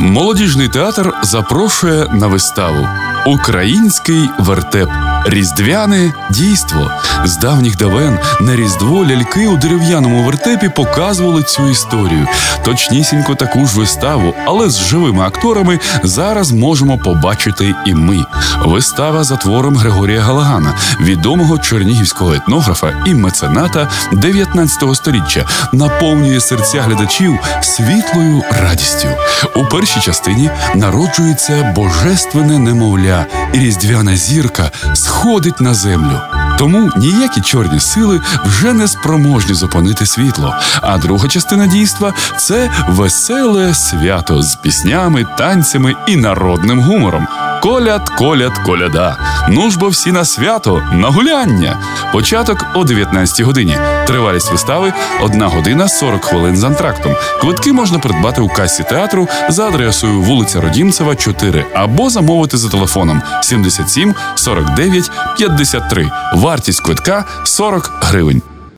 Молодіжний театр запрошує на виставу «Український вертеп. Різдвяне дійство». З давніх давен на Різдво ляльки у дерев'яному вертепі показували цю історію. Точнісінько таку ж виставу, але з живими акторами, зараз можемо побачити і ми. Вистава за твором Григорія Галагана, відомого чернігівського етнографа і мецената 19 століття, наповнює серця глядачів світлою радістю. У першій частині народжується божественне немовля, і різдвяна зірка сходить на землю. Тому ніякі чорні сили вже не спроможні зупинити світло. А друга частина дійства – це веселе свято з піснями, танцями і народним гумором. Коляд, коляд, коляда. Ну ж бо всі на свято, на гуляння. Початок о 19 годині. Тривалість вистави – 1 година 40 хвилин з антрактом. Квитки можна придбати у касі театру за адресою вулиця Родімцева, 4 або замовити за телефоном 77 49 53. Вартість квитка – 40 гривень.